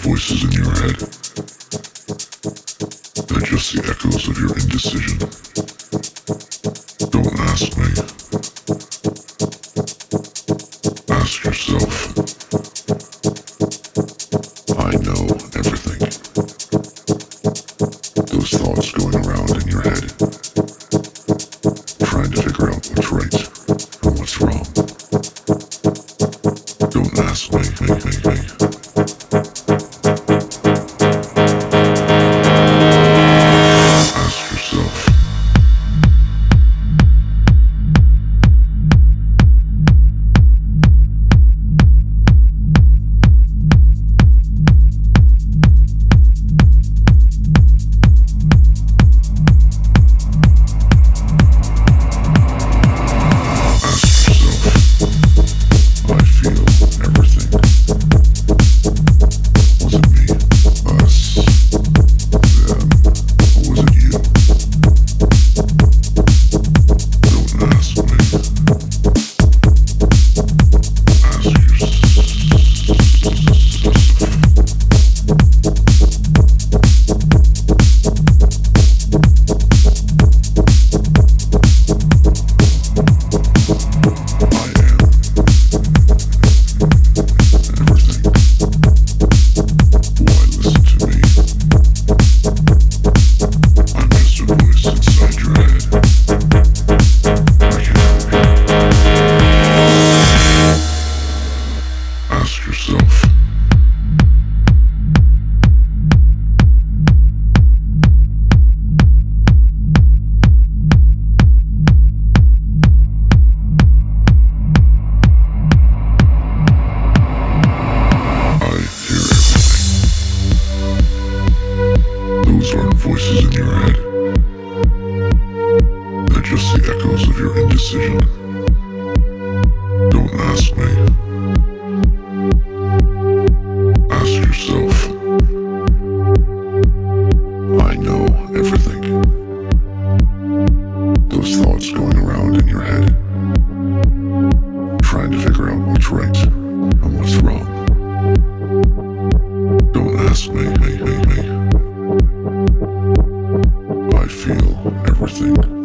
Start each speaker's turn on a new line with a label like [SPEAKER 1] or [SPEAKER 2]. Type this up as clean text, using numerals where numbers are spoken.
[SPEAKER 1] voices in your head. They're just the echoes of your indecision. Don't ask me. Ask yourself. I know everything. Those thoughts going around in your head, trying to figure out what's right and what's wrong. Don't ask me. Ask yourself. Ask yourself. I hear everything. Those aren't voices in your head. They're just the echoes of your indecision. Don't ask me. Ask yourself. I know everything. Those thoughts going around in your head, trying to figure out what's right and what's wrong. Don't ask me. I feel everything.